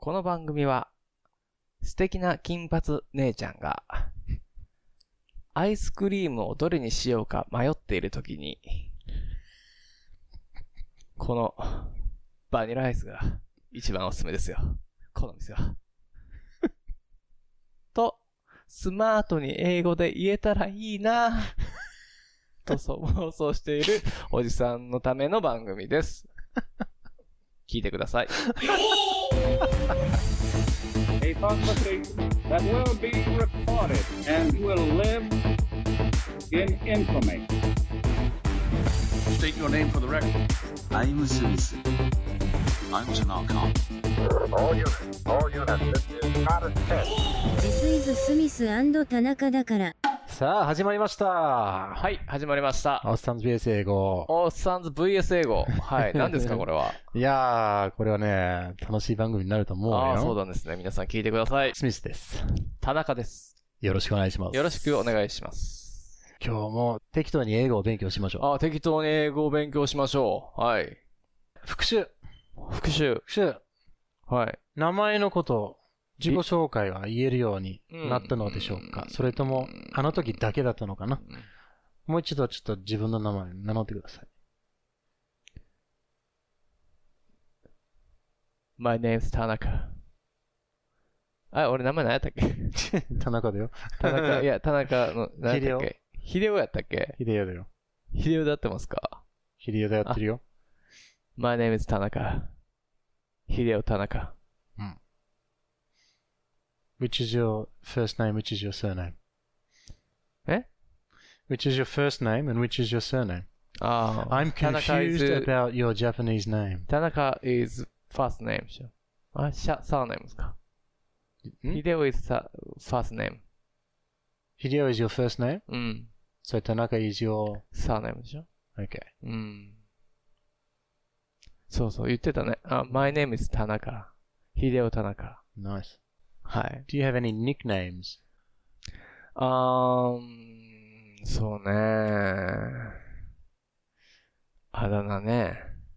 この番組は素敵な金髪姉ちゃんがアイスクリームをどれにしようか迷っているときにこのバニラアイスが一番おすすめですよ。この店はとスマートに英語で言えたらいいなと妄想しているおじさんのための番組です。聞いてください。 A conversation that will be recorded and will live in infamy. State your name for the record. I'm Smith. I'm Tanaka. All units, this is not a test. This is スミス&田中だから。 さあ、始まりました。 はい、始まりました。 おっさんズ VS 英語。 おっさんズ VS 英語。はい、何ですかこれは。 いやー、これはね、楽しい番組になると思うよ。 ああ、そうなんですね。皆さん聞いてください。 スミスです。 田中です。 よろしくお願いします。 よろしくお願いします。 今日も適当に英語を勉強しましょう。 ああ、適当に英語を勉強しましょう。はい。 復習。 はい。 名前のこと、自己紹介は言えるようになったのでしょうか、それとも、あの時だけだったのかな、もう一度ちょっと自分の名前名乗ってください。 My name is 田中。あ、俺名前何やったっけ田中だよ。 田中の、何やったっけ秀夫やったっけ秀夫だよ。 秀夫で合ってますか秀夫でやってるよ。 My name is 田中。秀夫田中。 うん。Which is your first name, which is your surname? え Which is your first name and which is your surname? I'm confused about your Japanese name. 田中 is first name でしょ。あ、surname ですか。秀夫 is first name. Hideo is your first name? うん。 So 田中 is your surname でしょ。 Okay. うん。そうそう、言ってたね。My name is 田中。秀夫田中。 Nice. はい。 Do you have any nicknames? そうね。あだ名ね。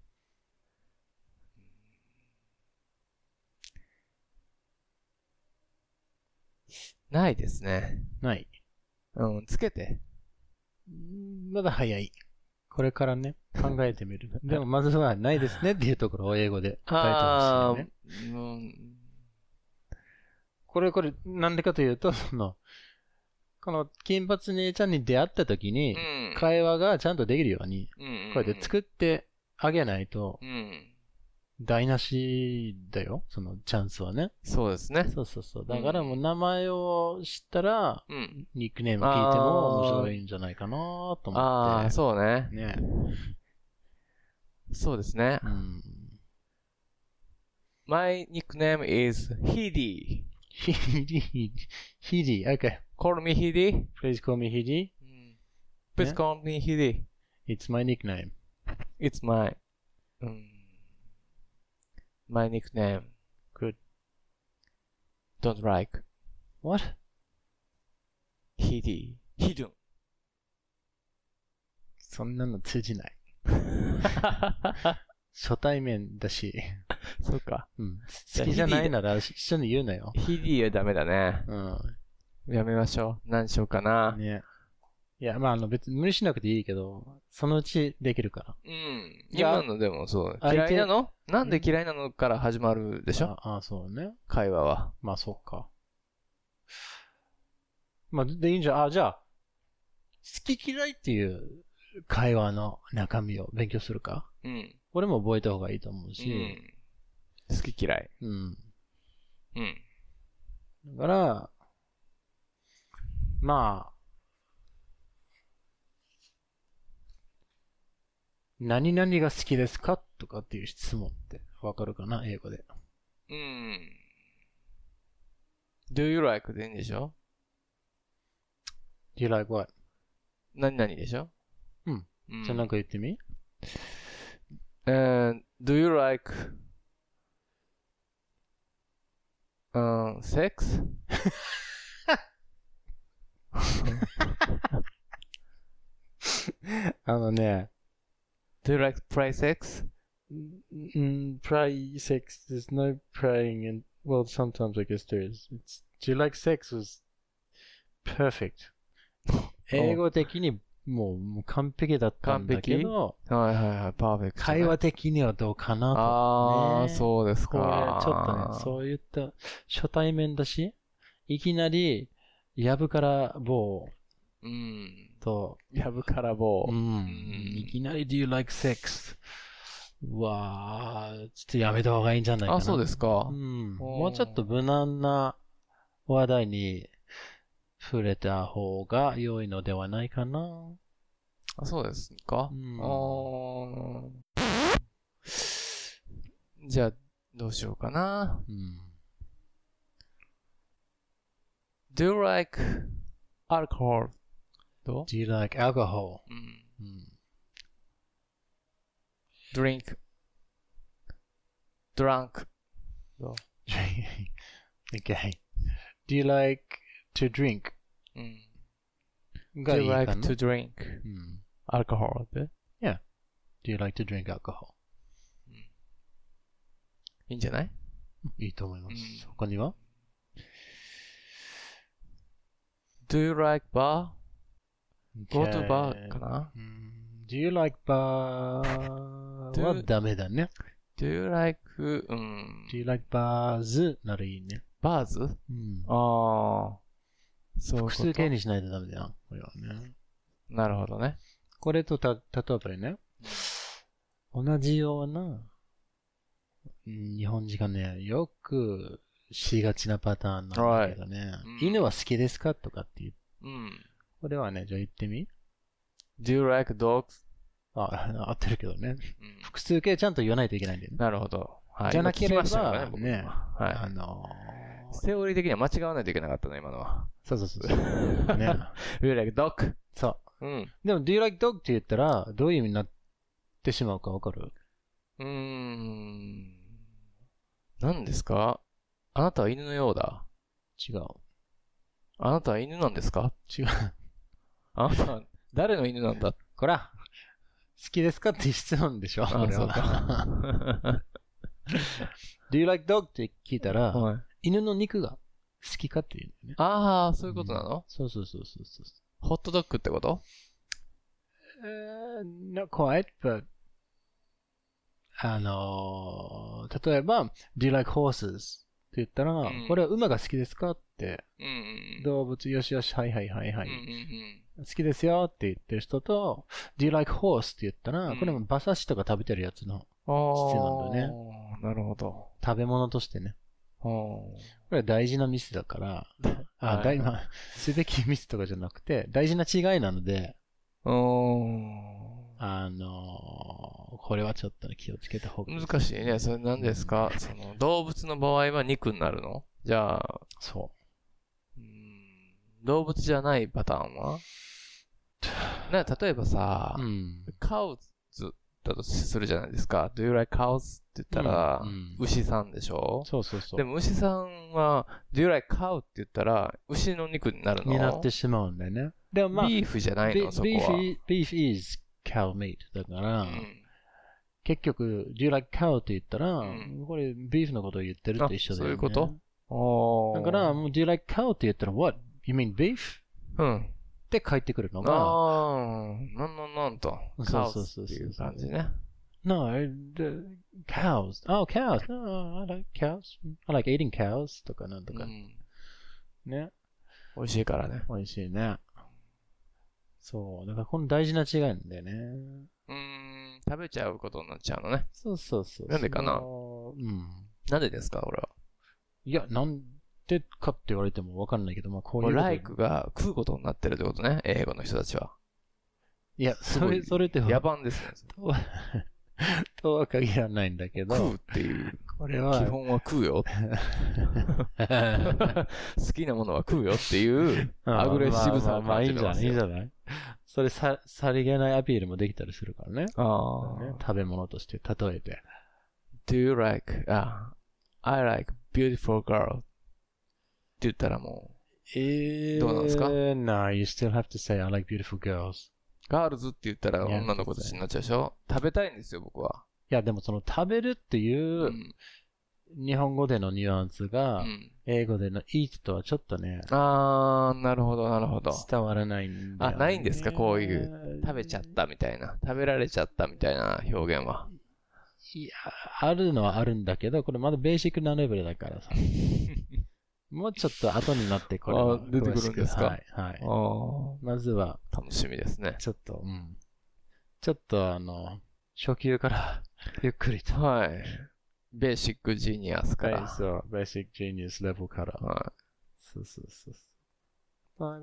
ないですね。 ない。 うん、つけて。 まだ早い。これからね、考えてみる。でもまずはないですねっていうところを英語で答えてほしいね。これ、なんでかというと、この金髪姉ちゃんに出会った時に、会話がちゃんとできるように、こうやって作ってあげないと、台無しだよ、そのチャンスはね。 そうですね。 そう。だからもう名前を知ったら、ニックネーム聞いても面白いんじゃないかなと思って。 ああ、そうね。 ね。 そうですね。My nickname is Hidi. Hidi, okay. Call me Hidi. Please call me Hidi. Please call me Hidi. It's my nickname. It's my nickname. Good. Don't like. What? Hidi. Hidden. そんなの通じない。初対面だし。 そうか。 好きじゃないなら一緒に言うなよ。 ヒディはダメだね。やめましょう。何しようかな。 ね。いや、まあ別に無理しなくていいけど、そのうちできるから。 今のでもそう。嫌いなの？なんで嫌いなのから始まるでしょ？ ああ、そうね。 会話は。 まあそうか。まあでいいんじゃん。じゃあ、好き嫌いっていう会話の中身を勉強するか？これも覚えた方がいいと思うし。 好き嫌い。 だから、まあ、何々が好きですかとかっていう質問ってわかるかな英語で。 Do you like でいいんでしょ ?Do you like what? 何々でしょじゃあなんか言ってみ ？Do you like sex? ね。 Do you like play sex? Play sex, there's no praying and Well, sometimes I guess there is. Do you like sex was perfect. 英語的にもう完璧だったんだけど、 はいはいはい、パーフェクト、ね。 会話的にはどうかなと、ね。 ああ、そうですか。 これちょっとね、そういった初対面だし、いきなり、やぶから棒と、 やぶから棒。 いきなり Do you like sex? うわー、ちょっとやめた方がいいんじゃないかな。 あ、そうですか。 もうちょっと無難な話題に触れた方が良いのではないかな。 あ、そうですか。じゃあ、どうしようかな。Do you like alcohol? どう Do you like alcohol? Drink. Drunk. どう Okay. Do you like to drink? Do you like to drink alcohol? で Yeah. Do you like to drink alcohol? いいんじゃない？ いいと思います。他には Do you like bar? Go to bar かな？ Do you like bar? はダメだね。 Do you like, Do you like bars? ならいいね。 bars? ああ。そう。 複数形にしないとダメだよ。これはね。 なるほどね。 これと例えばね、同じような、日本人がね、よくしがちなパターンなんだけどね。犬は好きですかとかって言う。これはね、じゃあ言ってみ。 Do you like dogs? 合ってるけどね。複数形ちゃんと言わないといけないんだよね。 なるほど。はい、 じゃなければ、 ね、はい。セオリー的には間違わないといけなかったの、今のは。 そう。ね。 Do you like dog? そう。でも、Do you like dog? って言ったら、どういう意味になってしまうかわかる？ 何ですか？あなたは犬のようだ。 違う。 あなたは犬なんですか？ 違う。 あなたは誰の犬なんだ？ こら、好きですかって質問でしょ？これは。Do you like dog? って聞いたら、犬の肉が好きかって言うんだよね。 ああ、そういうことなの？ そう。 ホットドッグってこと？ Not quite, but 例えば、Do you like horses? って言ったら、これは馬が好きですかって、動物よしよし、はい。好きですよって言ってる人と、Do you like horse? って言ったら、これも馬刺しとか食べてるやつの質なんだよね。 なるほど。 食べ物としてね。これは大事なミスだから、すべきミスとかじゃなくて、大事な違いなので、これはちょっと気をつけた方がいい。 難しいね。それ何ですか？その動物の場合は肉になるの？じゃあ、 そう。 動物じゃないパターンは？例えばさ、カウズだとするじゃないですか。Do you like cows? って言ったら、牛さんでしょ？ そう。 でも牛さんは、Do you like cow? って言ったら、牛の肉になるの？ になってしまうんだよね。でもまあ、 ビーフじゃないの？そこは。 Beef is cow meat だから、結局、Do you like cow? って言ったら、これ、ビーフのことを言ってると一緒だよね。 そういうこと？ だから、Do you like cow? って言ったら、What? You mean beef? って返ってくるのが、 なんと。 そうっていう感じね。 No, cows. Oh, cows. No, I like cows. I like eating cows. とかなんとか。ね。 美味しいからね。 美味しいね。そう。だからこの大事な違いなんだよね。 食べちゃうことになっちゃうのね。 そう。 なんでかな？なんでですか、俺は。 いや、なんでかって言われてもわかんないけど、まあこういう。 like が食うことになってるってことね、英語の人たちは。 いや、それって野蛮ですね。 とは限らないんだけど。 食うっていう。 これは。 基本は食うよ。好きなものは食うよっていう、アグレッシブさを感じてますよ。 いいんじゃないそれさりげないアピールもできたりするからね。食べ物として例えて。 Do you like, I like beautiful girl って言ったらもう、どうなんですか？ No, you still have to say I like beautiful girls. ガールズって言ったら女の子たちになっちゃうでしょ？食べたいんですよ、僕は。 いや、でもその食べるっていう日本語でのニュアンスが、英語での eat とはちょっとね。 なるほど、なるほど。 伝わらないんだよね。 ないんですかこういう、食べちゃったみたいな。食べられちゃったみたいな表現は。 いや、あるのはあるんだけど、これまだベーシックなレベルだからさ。もうちょっと後になってこれは出てくるんですか？ はい。はい。まずは。 楽しみですね。 ちょっと初級からゆっくりと。 はい。ベーシックジニアスから。 そう、ベーシックジニアスレベルから。 はい。 そう。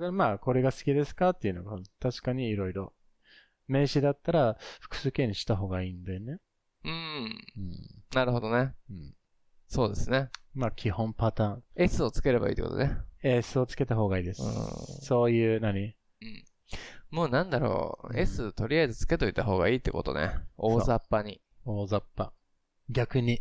まあ、これが好きですかっていうのが、確かにいろいろ。名詞だったら、複数形にした方がいいんだよね。 なるほどね。そうですね。 まあ、基本パターン。 S をつければいいってことね。 S をつけた方がいいです。そういう、 もうなんだろう。S とりあえずつけといた方がいいってことね。大雑把に。 大雑把。逆に。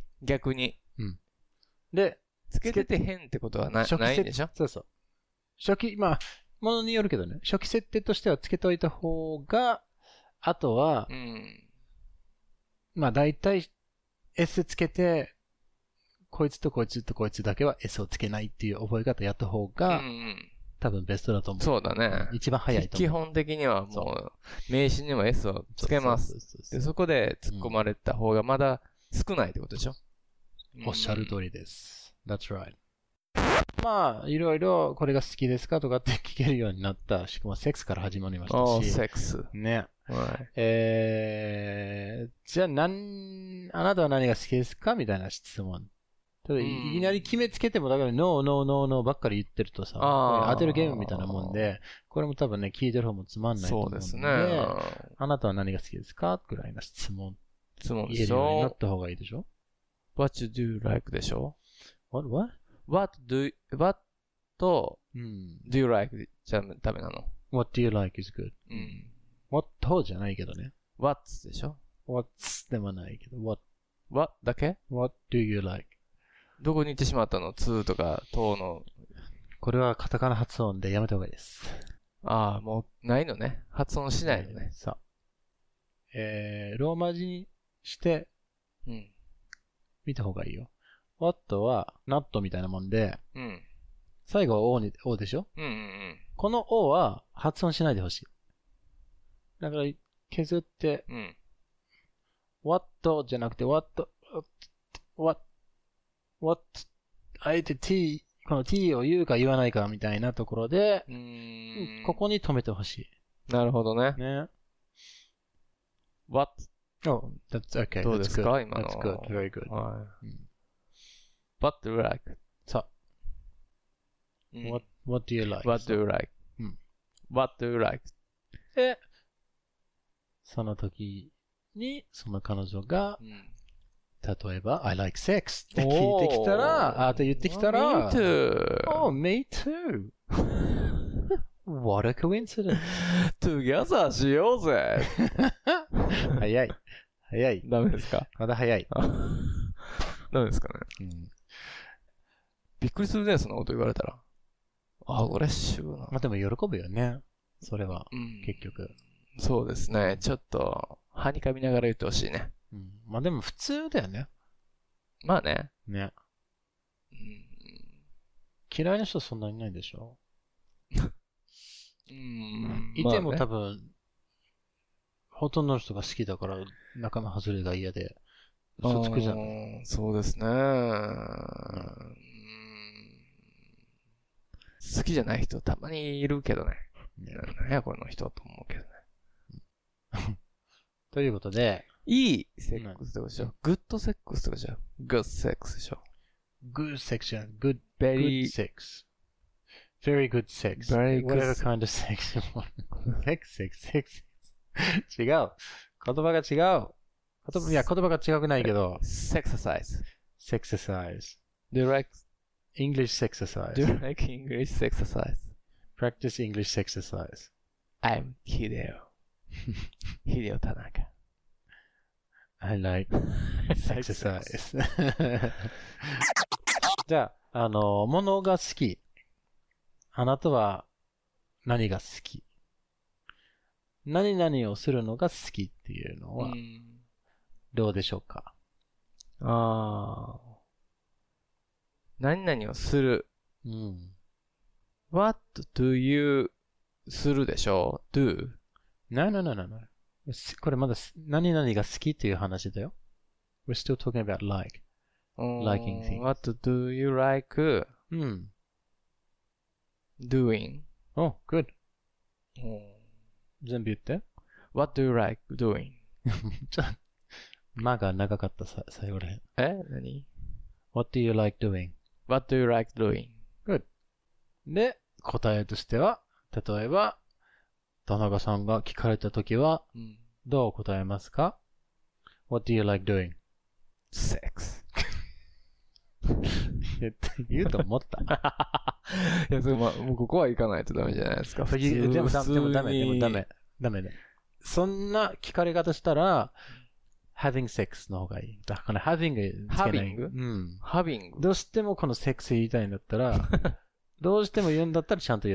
で、 つけてて変ってことはないんでしょ？ そう。初期、まあ、ものによるけどね。初期設定としてはつけといた方が、あとは、まあ大体 S つけて、こいつとこいつとこいつだけは S をつけないっていう覚え方やった方が、多分ベストだと思う。 そうだね。 一番早いと思う。 基本的にはもう、名詞にも S をつけます。で、そこで突っ込まれた方がまだ少ないってことでしょ？ おっしゃる通りです。That's right. まあ、いろいろこれが好きですかとかって聞けるようになった。しかもセックスから始まりましたし。 セックス。 ね。 はい。 じゃああなたは何が好きですかみたいな質問。ただいきなり決めつけても、だからノーノーノーノーばっかり言ってるとさ、当てるゲームみたいなもんで、これも多分ね、聞いてる方もつまんないと思うんで。そうですね。あなたは何が好きですかぐらいな質問。 でしょ。 言えるようになった方がいいでしょ？ What do you like でしょ？ What do you like じゃダメなの？ What do you like is good. What じゃないけどね。 What でしょ？ What でもないけど、 What だけ？ What do you like? どこに行ってしまったの？2とか、との。 これはカタカナ発音でやめた方がいいです。 もう、ないのね。発音しないのね。 さあ。ローマ字にして、見た方がいいよ。What は、not みたいなもんで、最後は O でしょ？この O は発音しないでほしい。だから、削って、what じゃなくて what、あえて t、この t を言うか言わないかみたいなところで、ここに止めてほしい。なるほどね。 ね。 what? Oh, that's okay. どうですか今の。 That's good. Very good. What do you like? さあ。What do you like? What do you like? What do you like? で、その時に、その彼女が、例えば、I like sex って聞いてきたら、って言ってきたら、 Me too. Oh, me too. What a coincidence. Together しようぜ。 早い。 ダメですか？ まだ早い。 ダメですかね。びっくりするね、そんなこと言われたら。嬉しいな。 まあでも喜ぶよね。それは、結局。 そうですね。ちょっと、はにかみながら言ってほしいね。 まあでも普通だよね。 まあね。 ね。嫌いな人そんなにいないでしょ？いても多分、ほとんどの人が好きだから、仲間外れが嫌で、嘘つくじゃん。 そうですね。好きじゃない人たまにいるけどね。何やこの人と思うけどね。 ということで、 いいセックスってことでしょ？グッドセックスってことでしょ？グッドセックスでしょ？ Good sex じゃん。Good sex. Very good sex. Very good Whatever kind of sex you want. sex. 違う。言葉が違う。いや、言葉が違くないけど。 Sexercise. Sexercise. Do you like English sexercise? Do you like English sexercise? Practice English sexercise. I'm Hideo. Hideo Tanaka. I like exercise. じゃあ、物が好き。あなたは何が好き？何々をするのが好きっていうのは、どうでしょうか？ 何々をする。 うん。 What do you するでしょ ?do? No. これまだ何々が好きっていう話だよ。We're still talking about like. Liking things. What do you like うん。 doing? Oh, good. 全部言って。 What do you like doing? ちょっと、間が長かった最後らへん。 何 What do you like doing? What do you like doing? Good. で、答えとしては、例えば、田中さんが聞かれたときは、どう答えますか？ What do you like doing? Sex. 言うと思った。 いや、もうここは行かないとダメじゃないですか。 でもダメ。そんな聞かれ方したら、having sex の方がいい。だから having つけない。 having？ うん。 having？ どうしてもこのセックス言いたいんだったら、どうしても言うんだったらちゃんと言って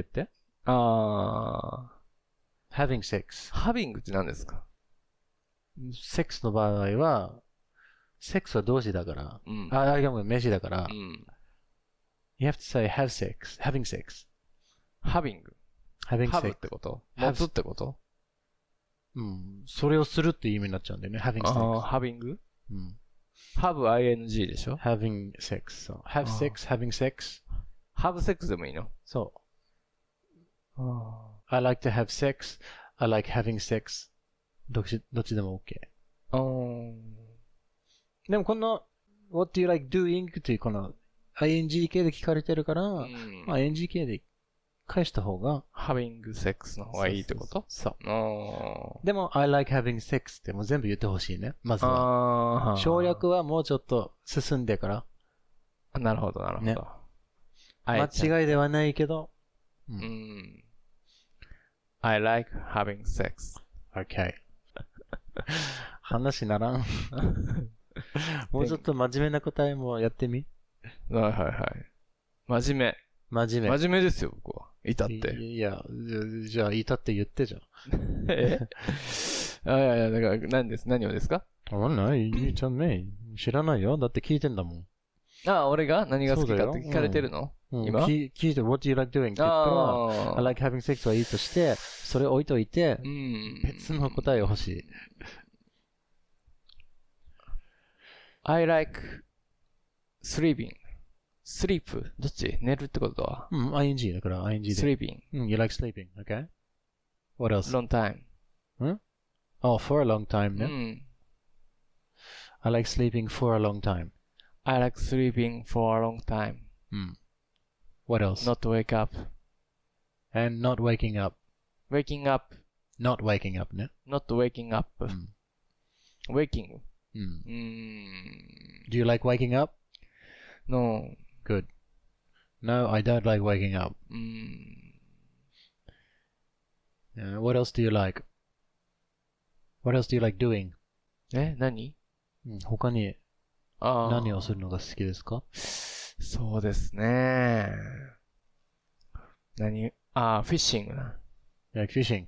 。having sex。 having って何ですか？ セックスの場合は、セックスは動詞だから。いやもう名詞だから。You have to say have sex, having sex. having sex ってこと持つってことそれをするっていう意味になっちゃうんだよね。having sex. having? have ing でしょ having sex. have sex, having sex. have sex でもいいのそう。I like to have sex. I like having sex. どっちでも OK。でもこの What do you like doing? っていうこの ing 形で聞かれてるから、ing 形で返した方が having sex の方がいいってことそう。でも I like having sex ってもう全部言ってほしいね。まずは。省略はもうちょっと進んでから。 なるほど。ね、 間違いではないけど。 I like having sex. Okay. 話ならん。もうちょっと真面目な答えもやってみ。 はい。真面目ですよ、僕は。いたって。 いや、じゃあ、いたって言ってじゃん。 いや、だから、何をですか？ いいちゃんね。知らないよ。だって聞いてんだもん。 俺が何が好きかって聞かれてるの？今聞いて、What do you like doing? って言ったら、I like having sex はいいとして、それ置いといて、別の答えが欲しい。 I like sleeping. sleep どっち？寝るってことは ing だから ing で。 sleeping. You like sleeping, okay? What else? long time. Oh, for a long time ね。I like sleeping for a long time. I like sleeping for a long time. What else? Not wake up. And not waking up. Waking up. Not waking up ね。 Not waking up. Waking. Do you like waking up? No. Good. No, I don't like waking up. What else do you like? What else do you like doing? 何？ 他に何をするのが好きですか？ そうですね。フィッシングな。 You like fishing?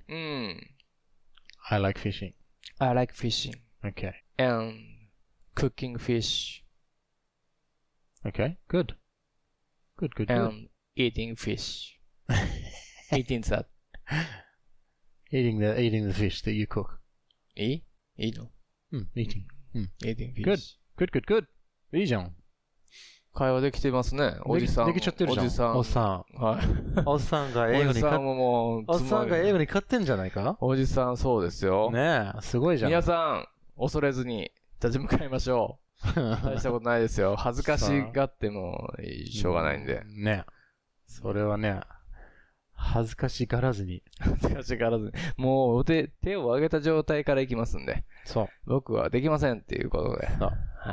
I like fishing. I like fishing. Okay. And cooking fish. Okay, good. Good. And eating fish. Eating that. Eating the fish that you cook. いいの ？Eating. Eating fish. Good. いいじゃん。 会話できてますね。おじさん。 できちゃってるじゃん。おっさん。はい。おっさんが英語に勝ってんじゃないか？ おじさんそうですよ。 ねえ、すごいじゃん。 皆さん、恐れずに立ち向かいましょう。大したことないですよ。恥ずかしがってもしょうがないんで。 ねえ。それはね、恥ずかしがらずに。もう手を上げた状態からいきますんで。そう。僕はできませんっていうことで。そう。はい。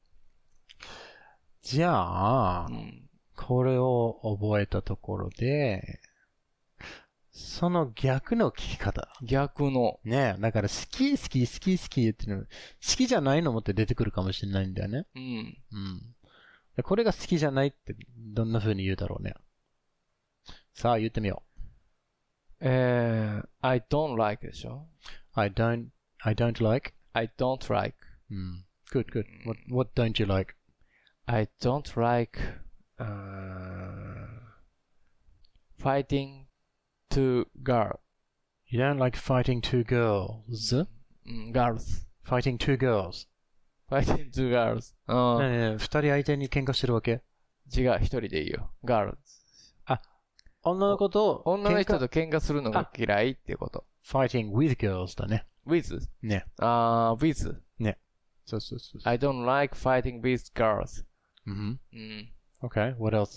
じゃあ、これを覚えたところで、その逆の聞き方。逆の。ねえ、だから好き言ってるの、好きじゃないのもって出てくるかもしれないんだよね。これが好きじゃないってどんな風に言うだろうね。さあ、言ってみよう。I don't like でしょ？ I don't like? I don't like. Good. What don't you like? I don't like fighting two girls. You don't like fighting two girls? Girls. Fighting two girls. Fighting two girls. 二人相手に喧嘩してるわけ？ 違う、一人でいいよ。girls。 女の子と女の人と喧嘩するのが嫌いっていうこと。 fighting with girls だね。 with? ね。 with? ね。そうそうそう。 I don't like fighting with girls. Okay, what else?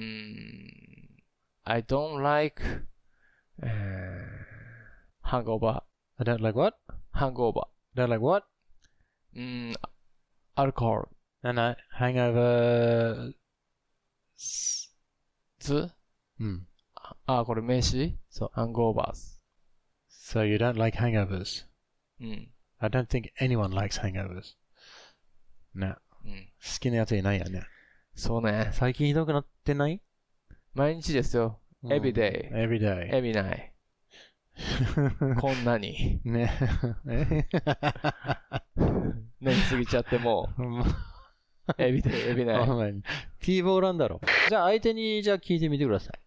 I don't like hangover. I don't like what? Hangover. Don't like what? Alcohol. No, hangover. これ名詞？ そう。 hangovers. So you don't like hangovers? I don't think anyone likes hangovers. ね。好きなやついないよね。 そうね。 最近ひどくなってない？ 毎日ですよ。every day. Every day. Every night. こんなに。 ね。 寝すぎちゃってもう。every day, every night. T ボーランだろ。じゃあ相手にじゃあ聞いてみてください。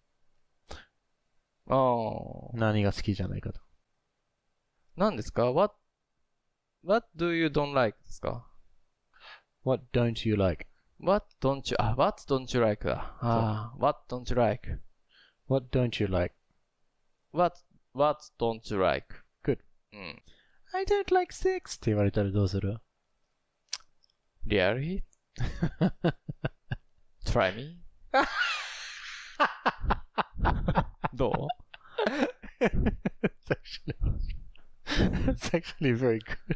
何が好きじゃないかと。 何ですか？ What do you don't like ですか？ What don't you like? What don't you like だ。What don't you like? What don't you like? What don't you like? Good. I don't like sex って言われたらどうする？ Really? Try me? どう？ It's actually very good.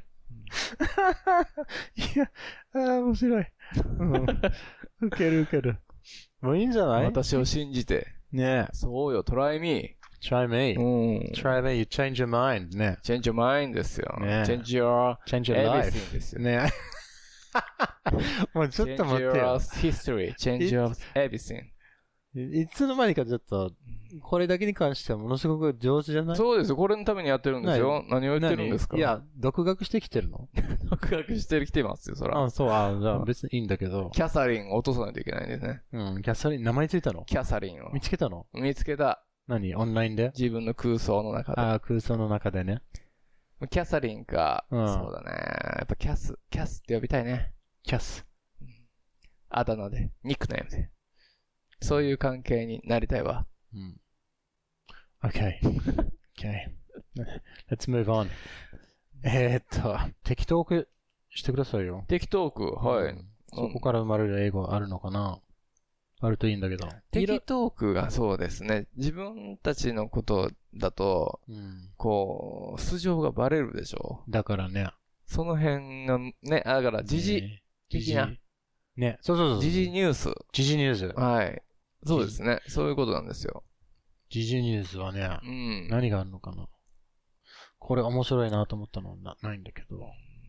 いや、面白い。ウケる。もういいんじゃない？ 私を信じて。 ね。 そうよ、try me. Try me. Try me, you change your mind. ね。 change your mind ですよ。 ね。 change your life. everything ですよ。 ね。もうちょっと待ってよ。 change your history, change your everything. いつの間にかちょっと、これだけに関してはものすごく上手じゃない？ そうですよ。これのためにやってるんですよ。何を言ってるんですか？ いや、独学してきてるの？ 独学してきてますよ、そら。 そう、じゃあ別にいいんだけど。 キャサリンを落とさないといけないんですね。 キャサリン、名前ついたの？ キャサリンを。 見つけたの？ 見つけた。 何？オンラインで？ 自分の空想の中で。 空想の中でね。 キャサリンか、そうだね。やっぱキャスって呼びたいね。 キャス。 あだ名で、ニックネームで。そういう関係になりたいわ。 Okay. Let's move on. 適当句してくださいよ。 適当句、はい。 そこから生まれる英語あるのかな？あるといいんだけど。 適当句がそうですね。自分たちのことだと、こう、素性がバレるでしょ。 だからね。 その辺がね、だから時事的な。 ね、そう。 時事ニュース。 時事ニュース。 はい。そうですね。そういうことなんですよ。 時事ニュースはね、何があるのかな。これ面白いなと思ったのはないんだけど。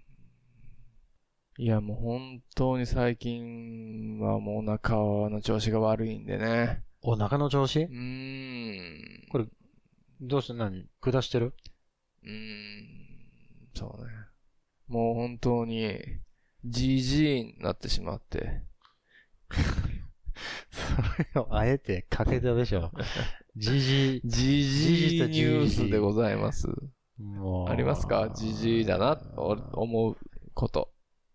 いや、もう本当に最近はもうお腹の調子が悪いんでね。 お腹の調子？これ、どうして下してる？ そうね。もう本当に、じじいになってしまって。 それをあえてかけたでしょ。じじいニュースでございます。ありますか？じじいだなと思うこと。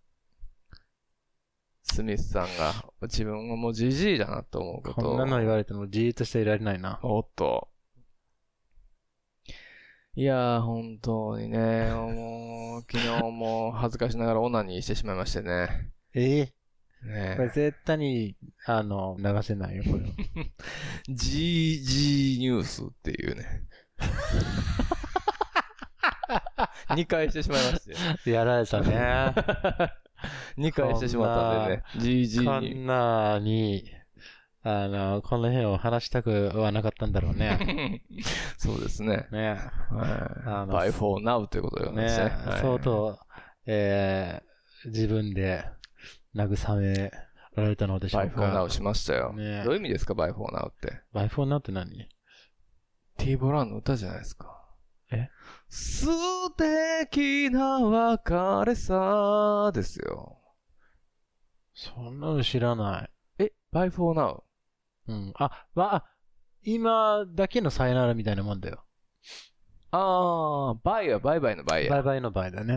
スミスさんが自分はもうじじいだなと思うこと。 こんなの言われてもじーっとしていられないな。 おっと。いやー、本当にね、もう、昨日も恥ずかしながらオナニーしてしまいましてね。 ねこれ絶対に、流せないよ、これは。 GG ニュースっていうね。2回してしまいまして。 やられたね。 2回してしまったんでね。GG こんなに、この辺を話したくはなかったんだろうね。 そうですね。 ね。 by for now ということでございますね。 相当、自分で慰められたのでしょうか。 by for now しましたよ。 ね、 どういう意味ですか by for now って。 by for now って何？ T ボランの歌じゃないですか。素敵な別れさですよ。 そんなの知らない。 bye for now. うん。今だけのさよならみたいなもんだよ。 bye はバイバイのバイや。 バイバイの場合だね。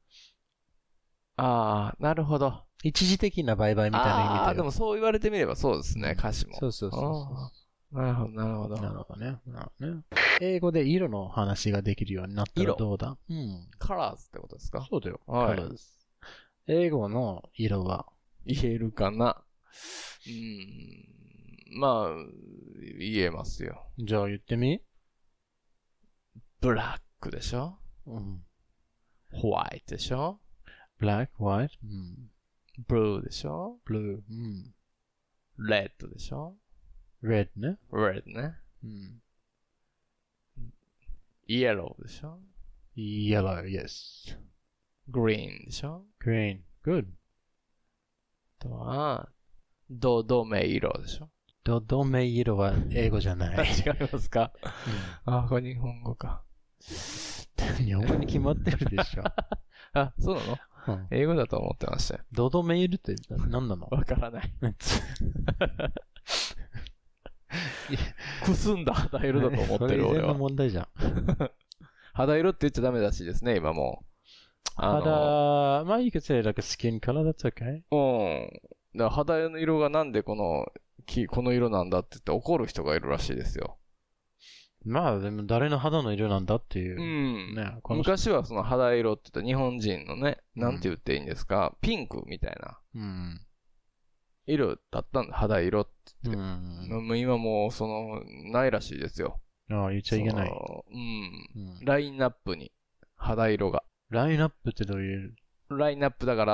なるほど。 一時的なバイバイみたいな意味だよ。 でもそう言われてみればそうですね、歌詞も。 そうそうそうなるほど、なるほど。 なるほどね。英語で色の話ができるようになったらどうだ？うん。 colors ってことですか？ そうだよ。 はい。 colors。英語の色は言えるかな？まあ、言えますよ。 じゃあ言ってみ？ ブラックでしょ？ うん。 ホワイトでしょ？ ブラック、ホワイト、うん。 ブルーでしょ？ ブルー、うん。 レッドでしょ？ レッドね。 レッドね。 うん。 イエローでしょ？ イエロー、yes。 グリーンでしょ？ グリーン、good。 あとは、ドメ色でしょ？ ドメ色は英語じゃない。 違いますか？これ日本語か。 日本語に決まってるでしょ。 そうなの？英語だと思ってましたよ。 ドドメイルって何なの？ わからない。くすんだ肌色だと思ってる俺は。それの問題じゃん。肌色って言っちゃダメらしいですね、今もう。 まあ、you could say like a skin color, that's okay. だから肌の色がなんでこの色なんだって言って怒る人がいるらしいですよ。 まあでも誰の肌の色なんだっていう。 ね、昔はその肌色って言ったら日本人のね、なんて言っていいんですか、ピンクみたいな。色だったんだ、肌色って言って。今もうないらしいですよ。 言っちゃいけない。 ラインナップに肌色が。 ラインナップってどういう？ ラインナップだから、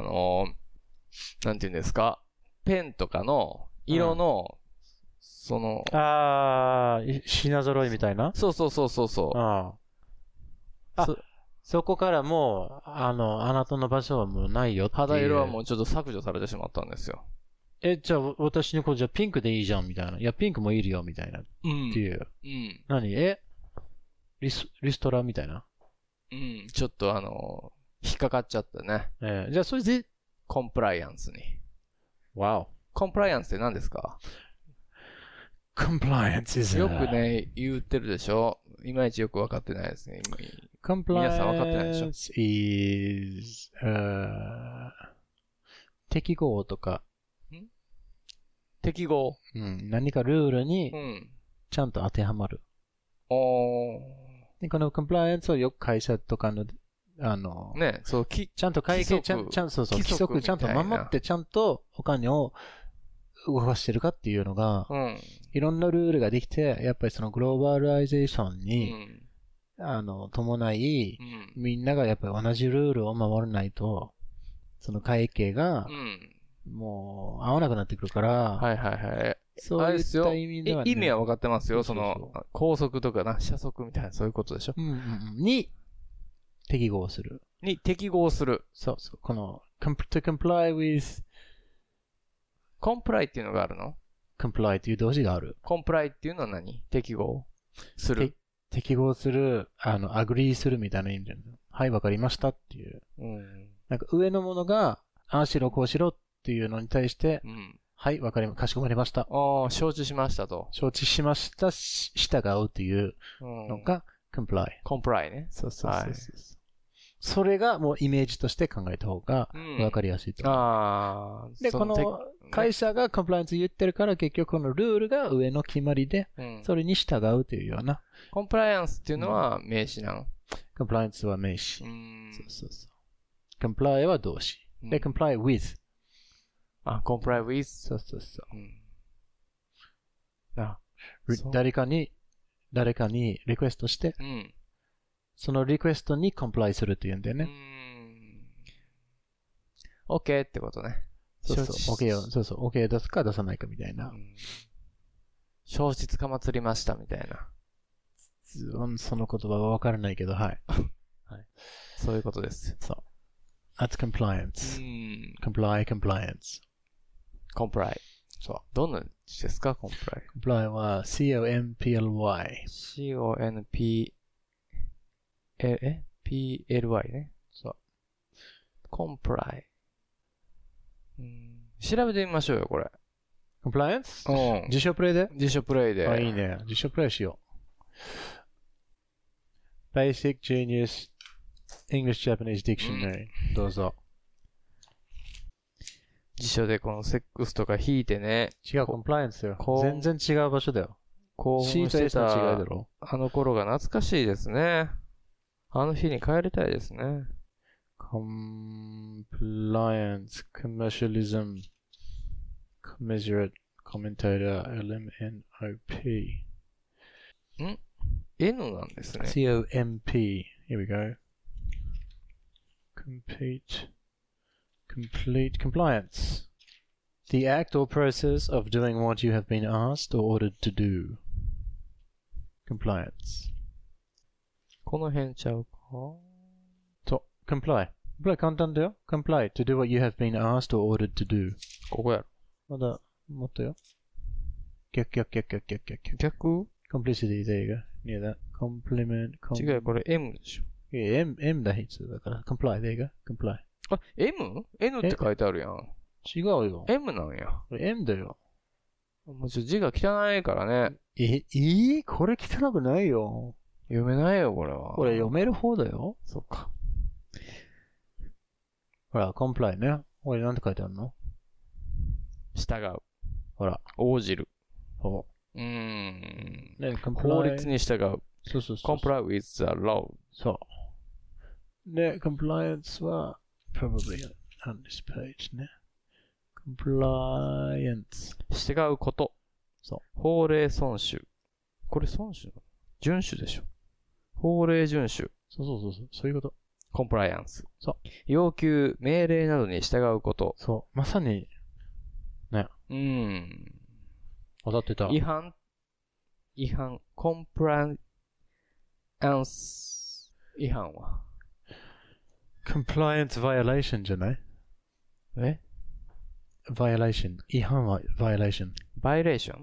なんて言うんですか、ペンとかの色の、 品揃いみたいな？ そう。 そこからもう、あなたの場所はもうないよっていう。 肌色はもうちょっと削除されてしまったんですよ。 じゃあ私の子じゃあピンクでいいじゃんみたいな。いや、ピンクもいるよみたいな。っていう。何？リストラみたいな。 ちょっと引っかかっちゃったね。 じゃあそれで、 コンプライアンスに。 わお。 コンプライアンスって何ですか ？Compliance is よくね、言ってるでしょ？いまいちよく分かってないですね。 皆さん分かってないでしょ？ is 適合とか。 適合？ 何かルールにちゃんと当てはまる。でこの compliance をよく会社とかのね、そう、 ちゃんと会計、規則ちゃんと守って、ちゃんとお金を動かしてるかっていうのが、いろんなルールができて、やっぱりそのグローバライゼーションに、伴い、みんながやっぱり同じルールを守らないと、その会計が、もう合わなくなってくるから、そういった意味では、 意味は分かってますよ。高速とか車速みたいな、そういうことでしょ。 に、適合する。 そう。 この、to comply with comply っていうのがあるの？ comply っていう動詞がある。 comply っていうのは何？適合する。 適合する、agree するみたいな意味で。はい、わかりましたっていう。なんか上のものが、ああしろこうしろっていうのに対して、はい、かしこまりました。 承知しましたと。 承知しました、従うっていうのが、comply。 comply ね。 そう。それがもうイメージとして考えた方が分かりやすいと思う。で、この会社がコンプライアンス言ってるから結局このルールが上の決まりで、それに従うというような。 コンプライアンスっていうのは名詞なの？ コンプライアンスは名詞。そう。comply は動詞。で、comply with。 comply with。 そう。誰かにリクエストして、そのリクエストにコンプライするっていうんだよね。 OK ってことね。 OK 出すか出さないかみたいな。 消失かまつりましたみたいな。 その言葉はわからないけど、はい。 そういうことです。 そう。That's compliance. compliance. comply。 そう。 どんな字ですか comply。 comply は C-O-M-P-L-Y。 C-O-N-P-L-Y ね。 そう。 comply。調べてみましょうよ、これ。 compliance? うん。 辞書プレイで辞書プレイで。 あ、いいね。辞書プレイしよう。Basic Genius English Japanese Dictionary、どうぞ。 辞書でこのセックスとか引いてね。 違う、コンプライアンスよ。 こう全然違う場所だよ。 興奮してた C と S の違いだろ。 あの頃が懐かしいですね。あの日に帰りたいですね。 Compliance, Commercialism, Commiserate, Commentator, LMNOP。 N なんですね。 COMP. Here we go. Compete. Complete compliance. The act or process of doing what you have been asked or ordered to do. Compliance. この辺ちゃうかそう、comply。comply 簡単だよ。comply to do what you have been asked or ordered to do。 ここやろ。 まだ、もっとよ。逆。 逆 complicity でいいが。near that. compliment. 違うよ、これ M でしょ。 M だ、必須だから。comply でいいが。comply。 あ、M?N って書いてあるやん。 違うよ。 M なんや。 これ M だよ。 もう字が汚いからね。 これ汚くないよ。 読めないよ、これは。 これ読める方だよ。 そっか。 ほら、comply ね。これなんて書いてあるの？ 従う。 ほら。 応じる。 ほう。ね、 comply。 法律に従う。 そう。 comply with the law. そう。で、compliance は、probably on this page ね。compliance。 従うこと。 そう。 法令遵守。これ遵守なの？遵守でしょ。法令遵守。 そういうこと。 コンプライアンス。 そう。 要求、命令などに従うこと。 そう。まさに、ね。当たってた。 違反、コンプライアンス違反は compliance violation じゃない？ え？ violation。違反は violation。 violation?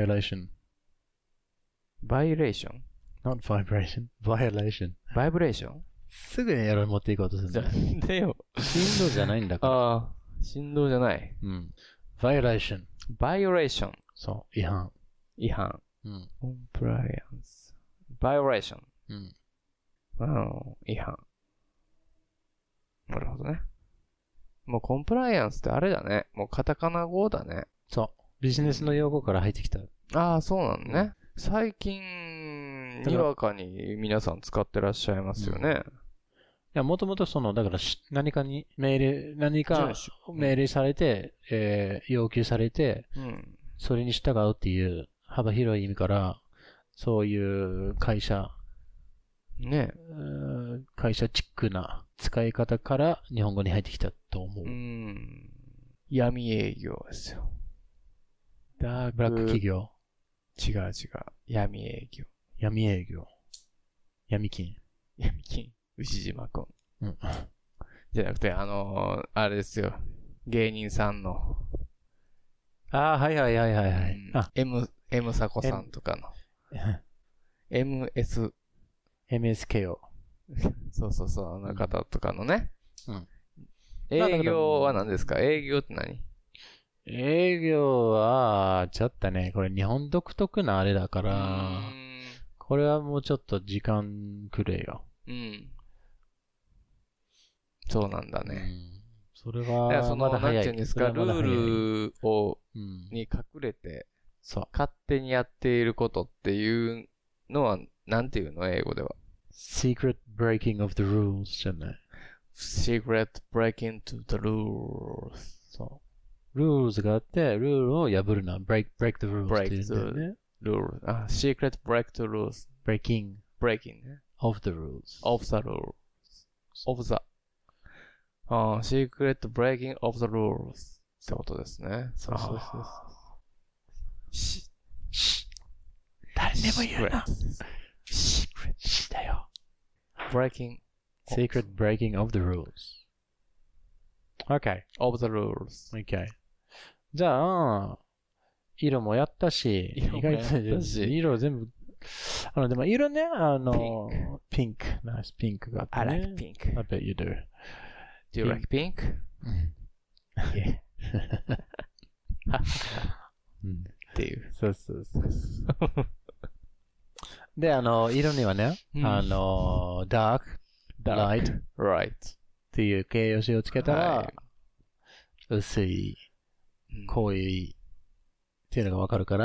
violation。not vibration。violation。 vibration? すぐにエロに持っていこうとする。 なんでよ。 振動じゃないんだから。 ああ、振動じゃない。 violation。 violation。 そう、違反。 compliance。violation。違反。なるほどね。もうコンプライアンスってあれだね。もうカタカナ語だね。 そう。ビジネスの用語から入ってきた。 ああ、そうなんね。最近、にわかに皆さん使ってらっしゃいますよね。 いや、もともとだから何か命令されて、要求されて、それに従うっていう幅広い意味から、そういう会社チックな使い方から日本語に入ってきたと思う。 闇営業ですよ。 ブラック企業。 違う。闇営業。 闇金。 牛島くん。じゃなくて、あれですよ。芸人さんの。 ああ、はい。 M サコさんとかの。MSKO。そう、あの方とかのね。営業は何ですか？営業って何？ 営業は、ちょっとね、これ日本独特なあれだから、これはもうちょっと時間くれよ。 そうなんだね。 それは、まだ早い。 なんていうんですか、ルールに隠れて、勝手にやっていることっていうのは、なんていうの？英語では。 secret breaking of the rules じゃない。 secret breaking to the rules。 そう。ルールがあって、ルールを破るな。break the rules っていうんだよね。 rules。secret break the rules。breaking ね。 of the rules。 of the rules。of the。secret breaking of the rules。ってことですね。 そう。誰にも言うな。secret だよ。secret breaking of the rules. Okay. of the rules. Okay. じゃあ、色もやったし、意外と色全部、でも色ね、ピンク。ナイスピンクがあってね。 I like pink. I bet you do. Do you like pink? Yeah. そうそうそう。で、色にはね、dark, light, right. っていう形容詞をつけたら、 はい、 薄い、濃いっていうのがわかるから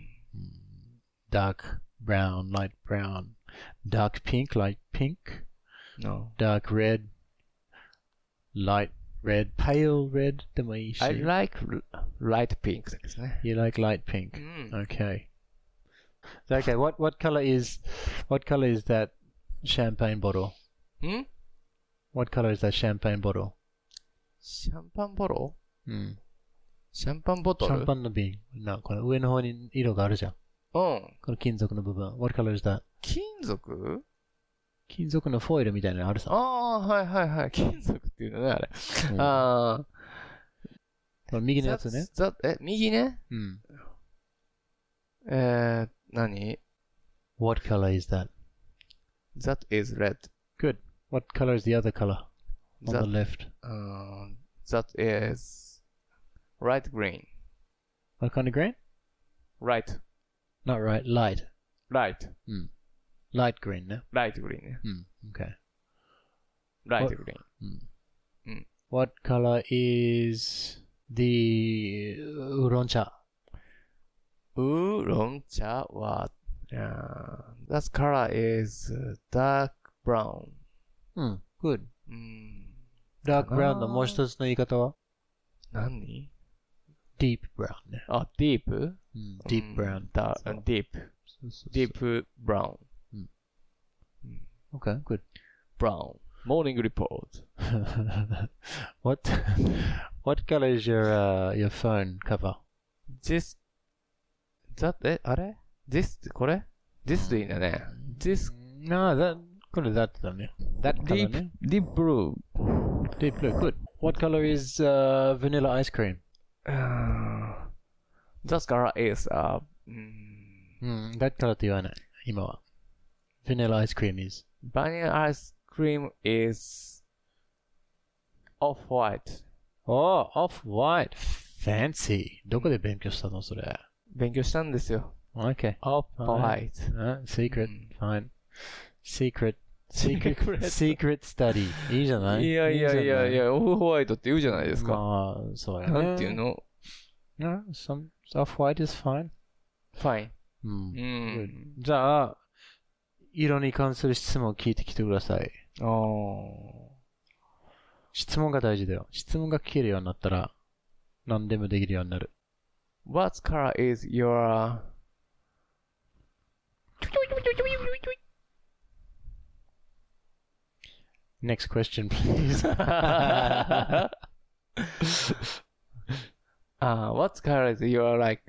、dark brown, light brown, dark pink, light pink, No. dark red, light red, pale red でもいいし。 I like light pink ですね。 You like light pink? Okay. So, okay, what color is that champagne bottle? What color is that champagne bottle? シャンパンボロシャンパンボトルシャンパンの瓶。この上の方に色があるじゃん。この金属の部分。What color is that? 金属金属のフォイルみたいなのあるさ。 はいはいはい。金属っていうのね、あれ。 右のやつね。 右ね何 What color is that? That is red. Good. What color is the other color? On the left. That is light green. What kind of green? Right. Not right. Light. Light. Light green ね。 Light green ね。 Okay. Light green. What color is the ウーロン茶？ ウーロン茶は、that color is dark brown. Good. Dark brown のもう一つの言い方は？ 何 Deep brown ね。 deep? Deep brown. Deep brown. Okay, good. Brown. Morning report. What color is your phone cover? This, that, あれ ?This, これ ?This でいいんだね。This, No, これ that だね。That color ね。 Deep blue. Deep blue, good. What color is vanilla ice cream? That color is, that color って言わない。今は。Vanilla ice cream is. Vanilla ice cream is off-white. Oh, off-white. Fancy. どこで勉強したのそれ。 勉強したんですよ。 Okay. Off-white. Secret. Fine. Secret study. いいじゃない？ いや、オフホワイトって言うじゃないですか。 まあ、そうやね。 なんていうの？ Off-white is fine. Fine. じゃあ、色に関する質問を聞いてきてください。質問が大事だよ。質問が聞けるようになったら、何でもできるようになる。 What color is your... Next question, please. What color is your like?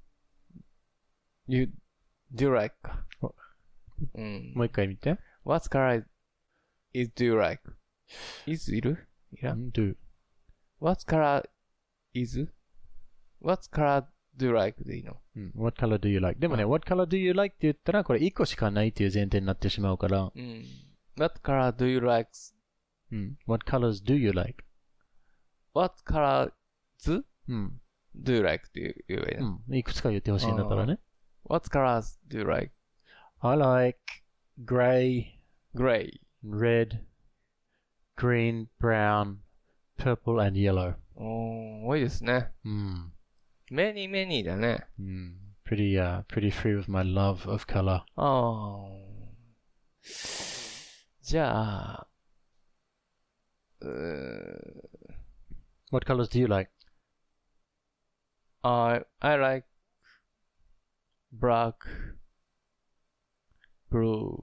You do like? もう一回見て。 What color is do you like? Is いる？いらん？ Do. What color is? What color do you like? でいいの ？What color do you like? でもね、What color do you like? って言ったら、これ1個しかないっていう前提になってしまうから。 What color do you like? What colors do you like? What colors do you like? って言えばいいのいくつか言ってほしいんだったらね。 What colors do you like? I like gray, red, green, brown, purple and yellow. 多いですね。many だね。 pretty free with my love of color. じゃあ、 What colors do you like? I like black, blue,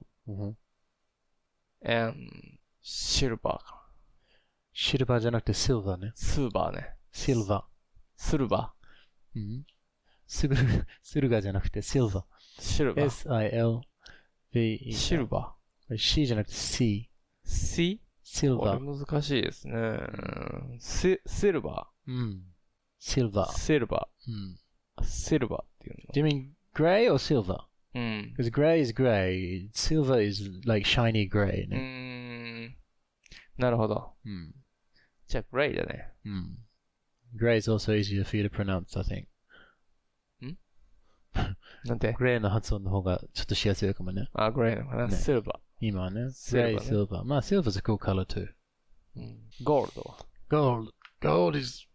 and silver. シルバーじゃなくてシルバーね。 スーバーね。 シルバー。 スルバー。スルガーじゃなくてシルバー。 シルバー。 S-I-L-V-E。 シルバー。C じゃなくて C。C? シルバー。難しいですね。シルバー。シルバー。 シルバー。シルバーっていうの。 Do you mean gray or silver? Because gray is gray. Silver is like shiny gray ね。 なるほど。じゃあ、グレイだね。 Gray is also easier for you to pronounce, I think. なんてグレーの発音の方がちょっとしやすいかもね。 あ、グレーのかな、 ねシルバ今はね。 シルバーねグレー、シルバー。まあ、シルバー is a cool color too. ー。ゴールドは。 Gold is...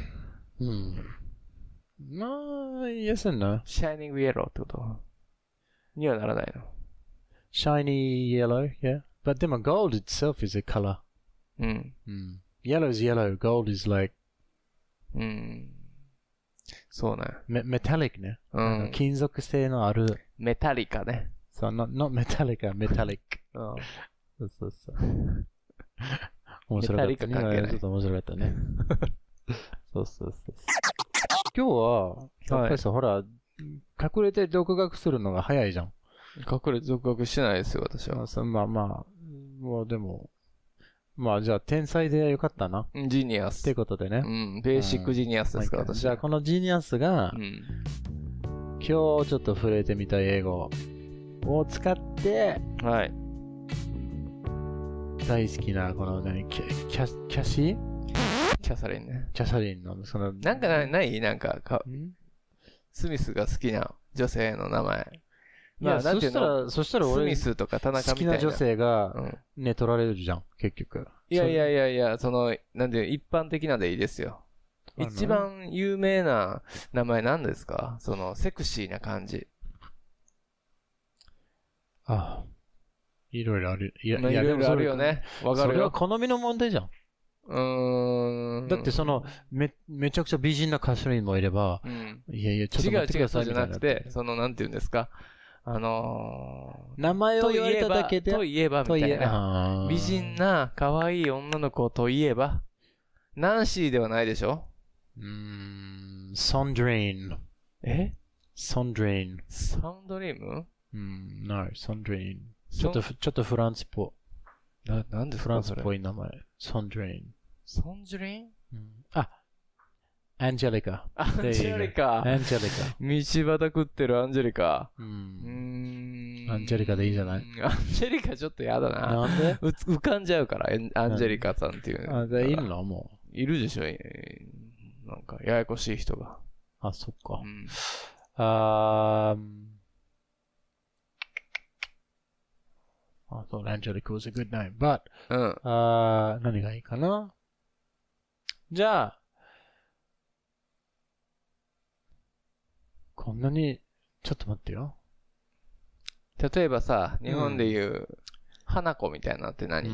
まあ、yes and no. シャイニングイエローってことにはならないの。 Shiny yellow, yeah. But でも gold itself is a color. Yellow is yellow. Gold is like... そうね。 metallic ね。金属製のある。 メタリカね。 そう、not metallic, metallic. そうそうそう。面白かった。 メタリカ関係ないちょっと面白かったね。そうそうそう。今日は、やっぱりさ、ほら、隠れて独学するのが早いじゃん。 隠れて独学してないですよ、私は。 まあまあ、もうでも、まあじゃあ天才でよかったな。 ジーニアス。 ってことでね。 ベーシックジーニアスですか、私。 じゃあこのジーニアスが、今日ちょっと触れてみた英語を使って、 はい。 大好きな、この何、キャシキャサリンね。 キャサリンの、その、 なんかないなんかスミスが好きな女性の名前。 まあ、そしたら俺、 スミスとか田中みたいな。 好きな女性が、ね、取られるじゃん、結局。 いや、その、なんで、一般的なでいいですよ。一番有名な名前なんですか？その、セクシーな感じ。 ああ。いろいろある。 いろいろあるよね。わかるよ。 それは好みの問題じゃん。だってその、めちゃくちゃ美人な歌手にもいれば、いやいや、ちょっと待ってくださいみたいな。 違うじゃなくて、その、なんて言うんですか。 名前を言われただけで。 といえば、みたいな。美人な、可愛い女の子といえば、ナンシーではないでしょ？ ソンドリーン。 え？ ソンドリーン。 サンドリーム no, ソンドリーン。ちょっとフランスっぽい。 なんでフランスっぽい名前。ソンドリーン。 ソンドリーン？ アンジェリカ。 アンジェリカ。 アンジェリカ。 道端食ってるアンジェリカ。 アンジェリカでいいじゃない？ アンジェリカちょっとやだな。 なんで？ 浮かんじゃうから、アンジェリカさんっていう。 いるのもう。いるでしょ。なんか、ややこしい人が。 あ、そっか。I thought Angelica was a good name, but 何がいいかな？じゃあ、こんなに、ちょっと待ってよ。 例えばさ、日本で言う、花子みたいなのって何？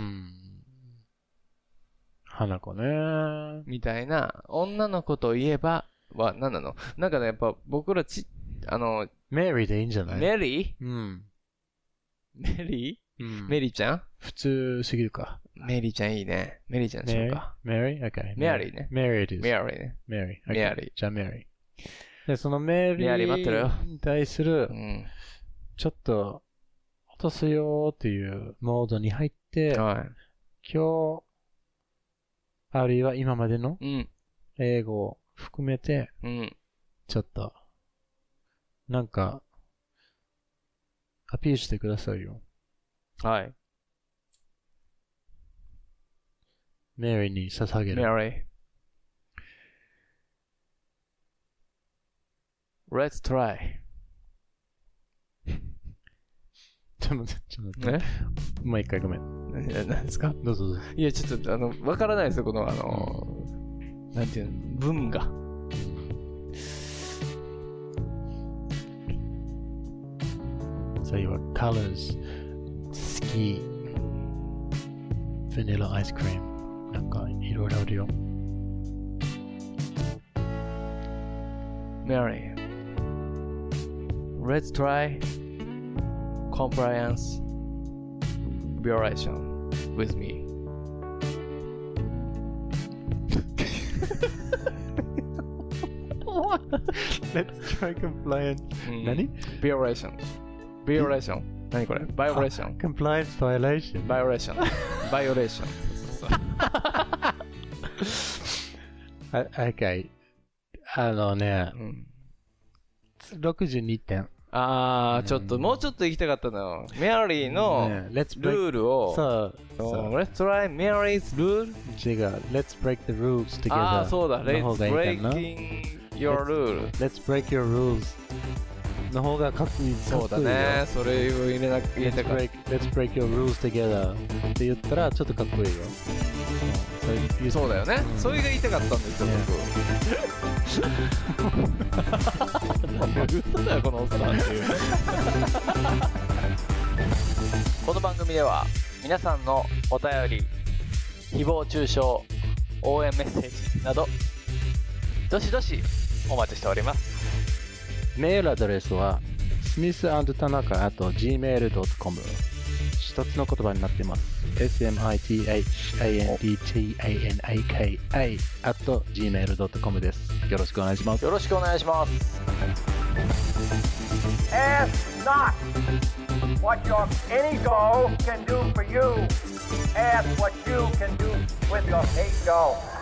花子ね。 みたいな、女の子といえば、は何なの？なんかね、やっぱ僕らメリーでいいんじゃない？ メリー？メリー？メリーちゃん？ 普通すぎるか。 メリーちゃんいいね。メリーちゃんでしょうか。 メリー？ OK。 メアリーね。 メリーです。 メアリーね。 メリー。 メアリー。 じゃあメリー。で、そのメリーに対する、ちょっと落とすよーっていうモードに入って、今日、あるいは今までの英語を含めて、ちょっと、なんか、アピールしてくださいよ。 はい。 メリーに捧げる。 メリー。Let's try. ちょっと待って。もう一回ごめん。 何ですか？ どうぞどうぞ。 いや、ちょっと、わからないですよ、この、なんていうの、文が。 そういう colors, 好き、vanilla ice cream なんかいろいろあるよ。 Mary, let's try compliance violation with me. Let's try compliance. 何？ Violation。何これ？ Violation。 Compliance violation。 Violation。Violation。 Okay。62点。 ちょっと、もうちょっと行きたかったの。メアリーのルールを。 そう。 Let's try Mary's rule? 違う。Let's break the rules together. そうだ。Let's breaking your rule. Let's break your rules の方がかっこいい。 そうだね。それを入れたかった。 Let's break your rules together って言ったらちょっとかっこいいよ。 そうだよね。それが言いたかったんですよ、僕。嘘だよ、このおっさんっていう。この番組では皆さんのお便り、誹謗中傷、応援メッセージなどどしどしお待ちしております。 メールアドレスは smith&tanaka@gmail.com 一つの言葉になっています。smithandtanaka@gmail.com です。よろしくお願いします。 よろしくお願いします。 Ask not what your ego can do for you. Ask what you can do with your ego.